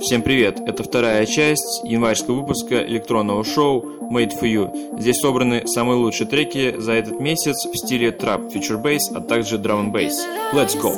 Всем привет! Это вторая часть январского выпуска электронного шоу Made for You. Здесь собраны самые лучшие треки за этот месяц в стиле трап, фьючер-бейс, а также драм-н-бейс. Let's go!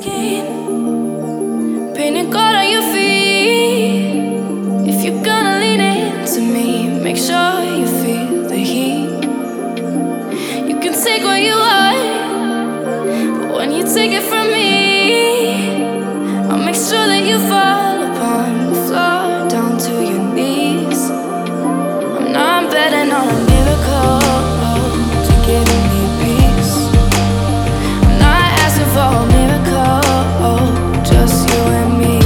Make sure you feel the heat. You can take what you want, but when you take it from me, I'll make sure that you fall upon the floor, down to your knees. I'm betting on a miracle to give me peace. I'm not asking for a miracle, just you and me.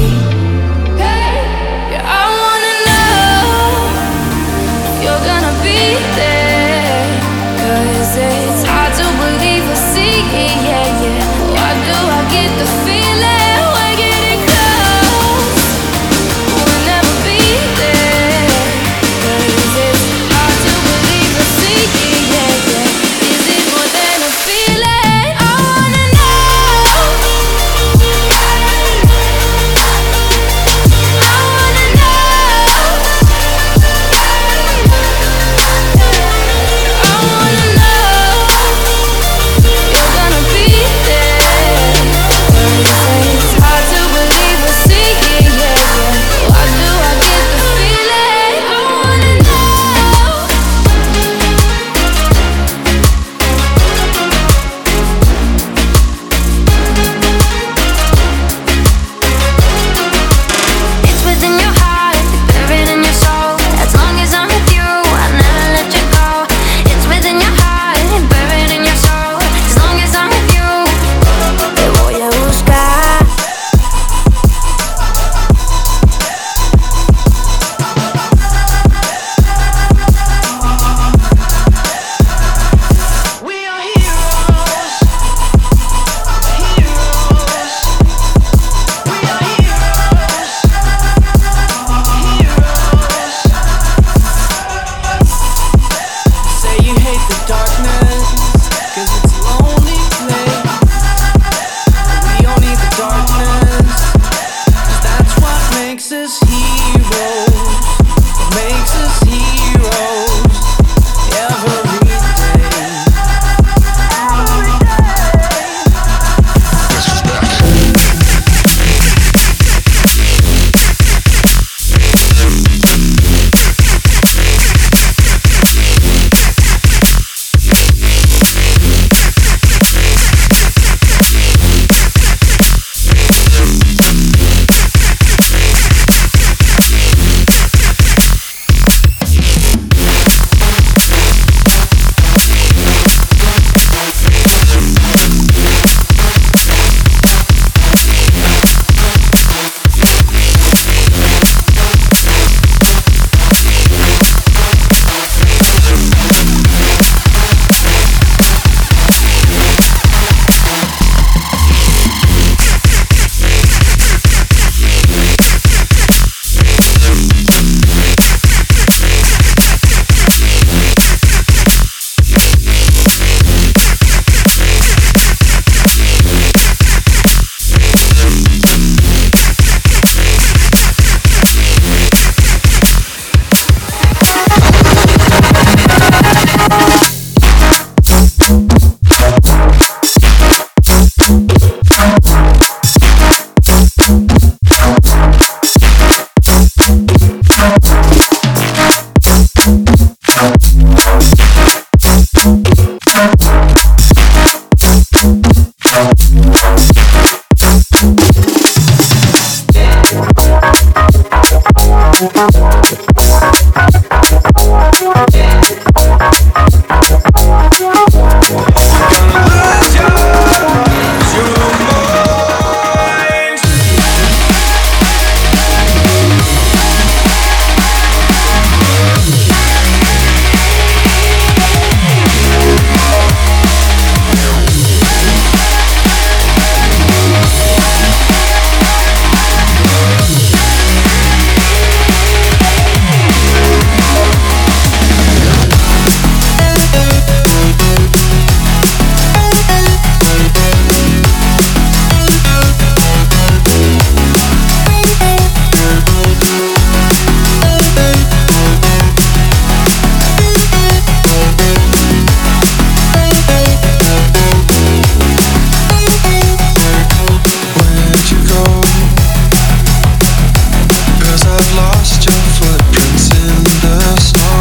I've lost your footprints in the snow.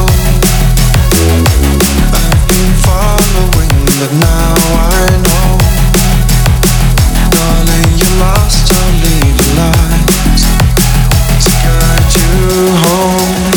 I've been following, but now I know. Darling, you're lost, I'll leave the lights to guide you home.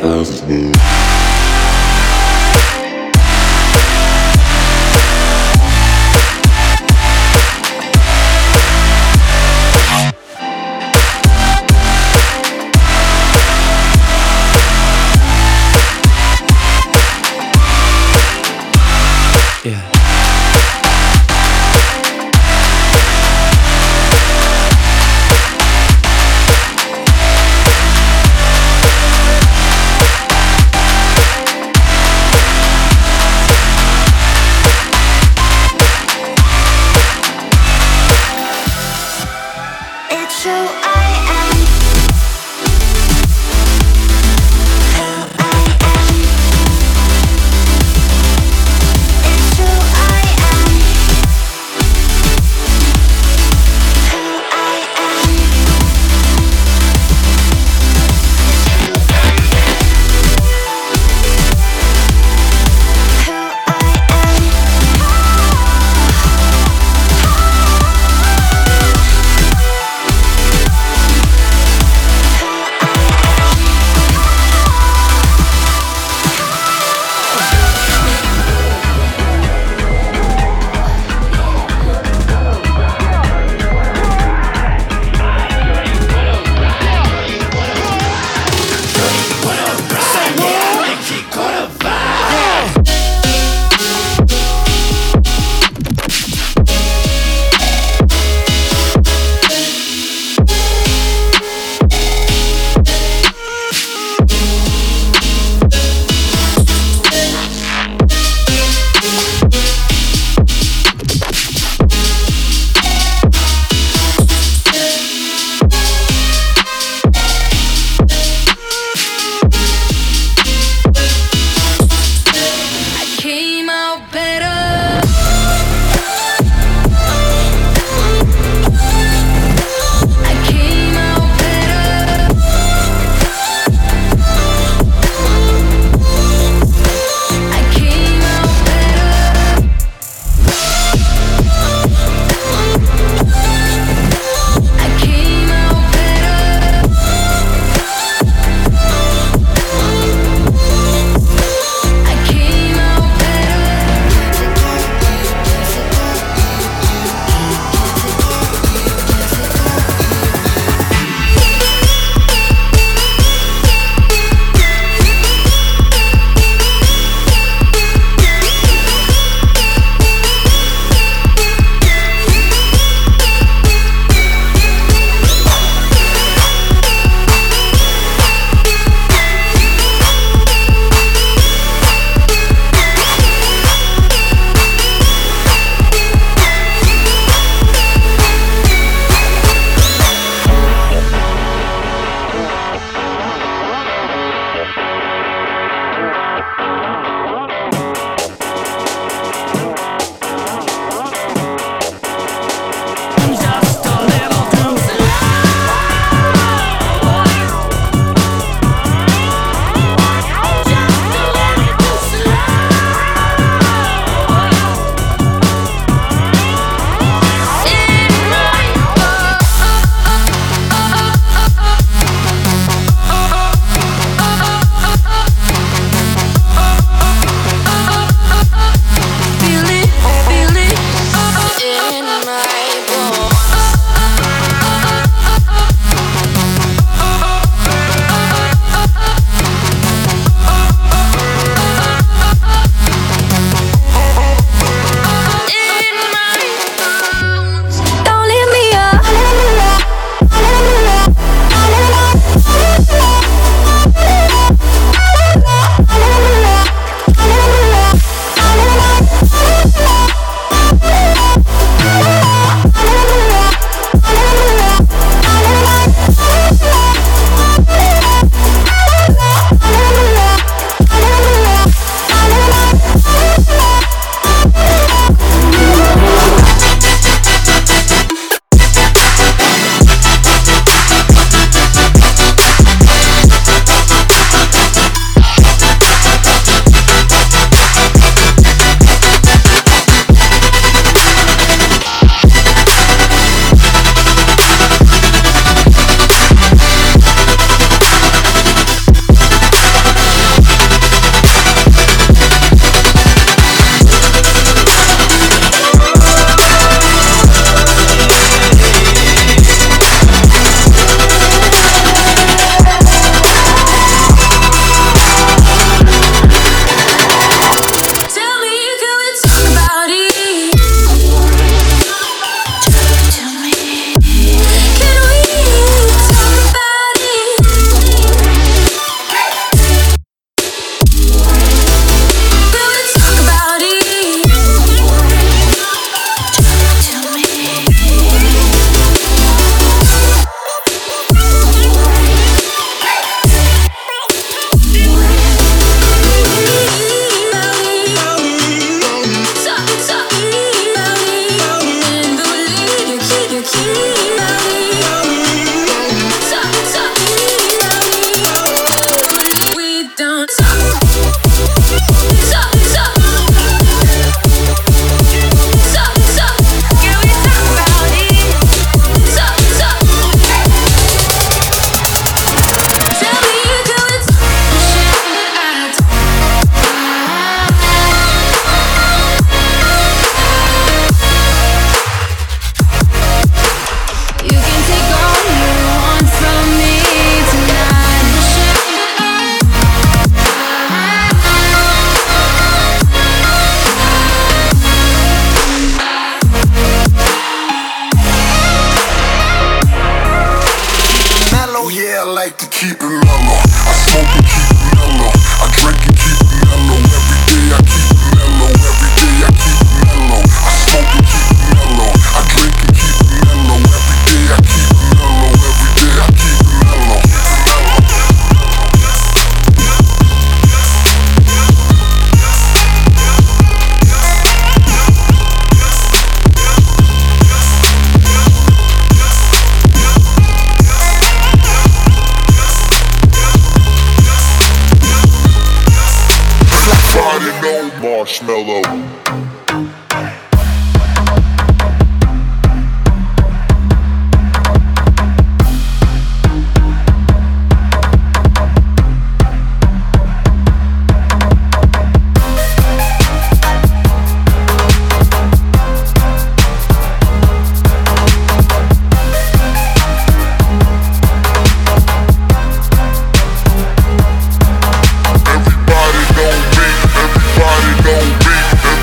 Feel it in my bones. Yeah, I like to keep it mellow. I smoke and keep it mellow. I drink and keep it mellow. Every day I keep it mellow. Every day I keep it mellow. I smoke and keep it mellow. I drink and keep it mellow. Every day I keep it mellow. Every day I keep it mellow. Marshmallow. Everybody know me.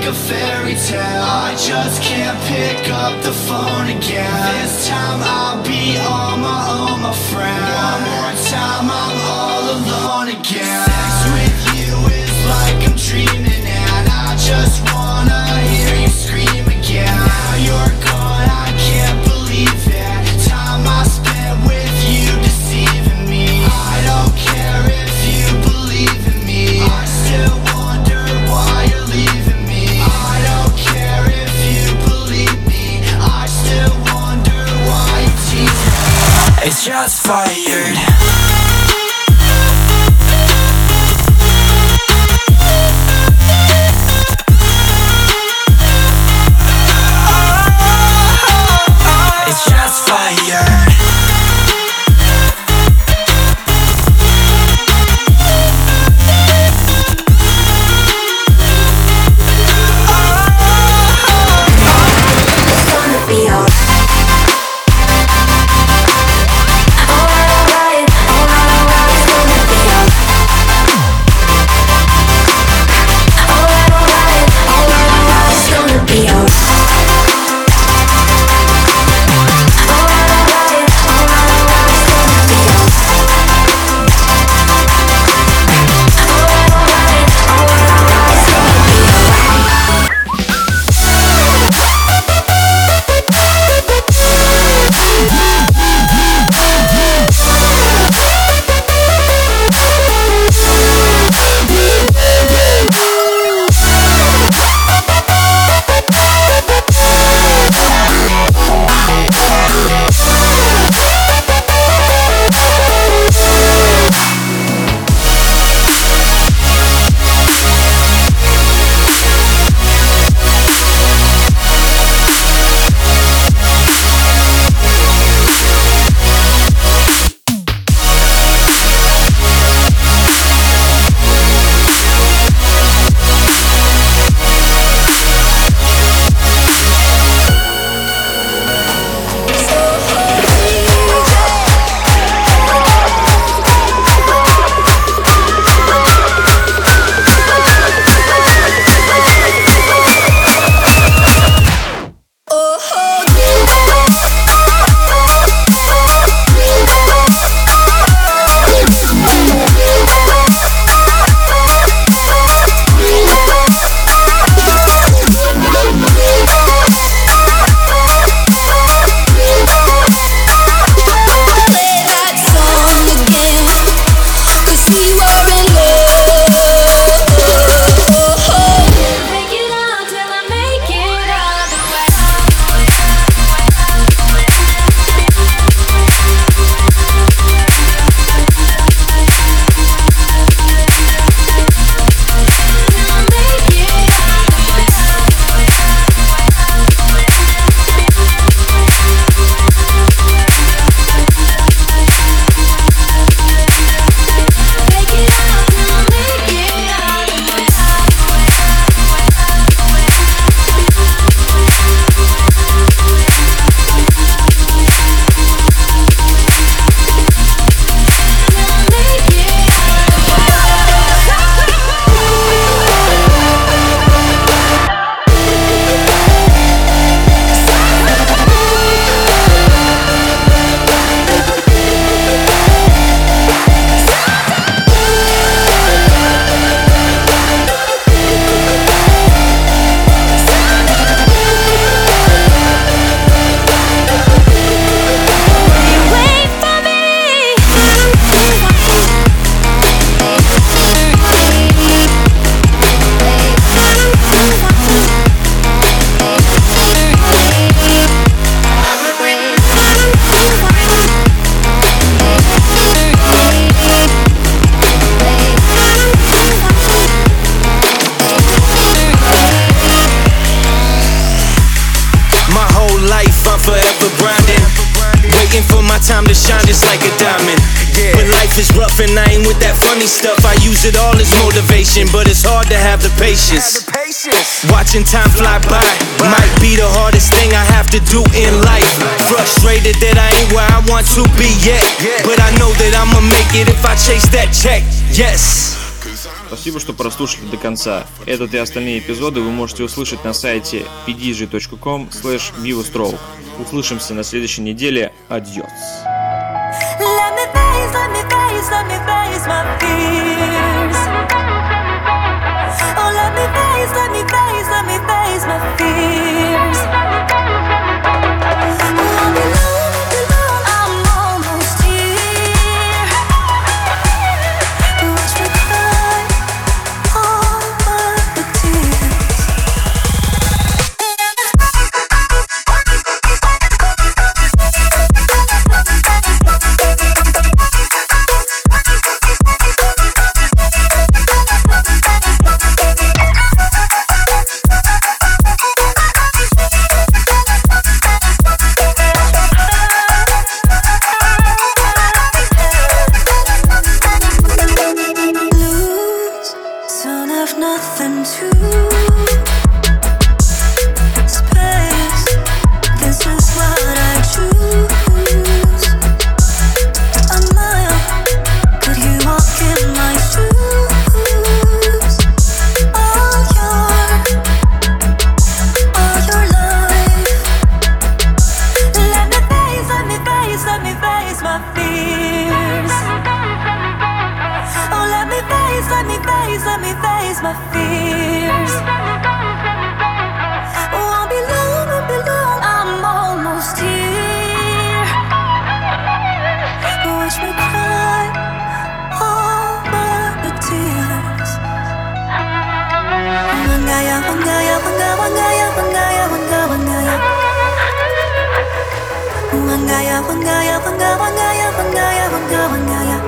a fairy tale. I just can't pick up the phone again. This time I'll be on my own, my friend. One more time I'm all alone again. Sex with you is like I'm dreaming, and I just wanna hear you scream again. Now you're gone, I can't believe it. Time I spent with you deceiving me. I don't care if you believe in me. I still wonder why you're leaving me. I don't care if you believe me. I still wonder why you tease me. It's just fired. It's just fired. time to shine just like a diamond. When life is rough and I ain't with that funny stuff, I use it all as motivation, but it's hard to have the patience. Watching time fly by might be the hardest thing I have to do in life. Frustrated that I ain't where I want to be yet, but I know that I'ma make it if I chase that check. Yes. Спасибо, что прослушали до конца. Этот и остальные эпизоды вы можете услышать на сайте pdj.com/vivostroke. Услышимся на следующей неделе. Адьос. Let me face my fears. Oh, let me face my fears. Oh, I'm alone, I'm almost here. Watch me cry all my tears. Nothing to space. This is what I choose. A mile, could you walk in my shoes? All your life. Let me face my fears. Oh, let me face my fears. Oh, I'll be long, I'm almost here. Watch me cry all my tears. Wangaya, wangaya, wangaya, wangaya, wangaya, wangaya. Wangaya, wangaya, wangaya, wangaya, wangaya, wangaya.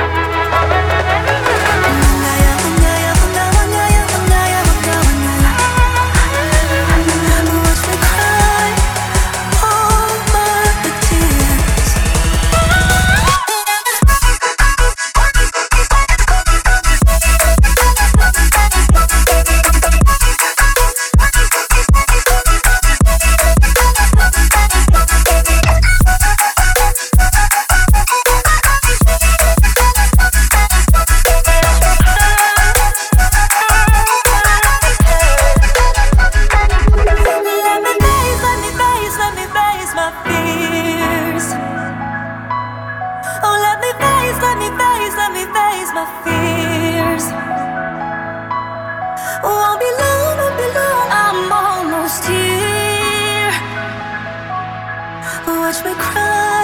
My fears. Oh, I'll be long, I'm almost here. Watch me cry.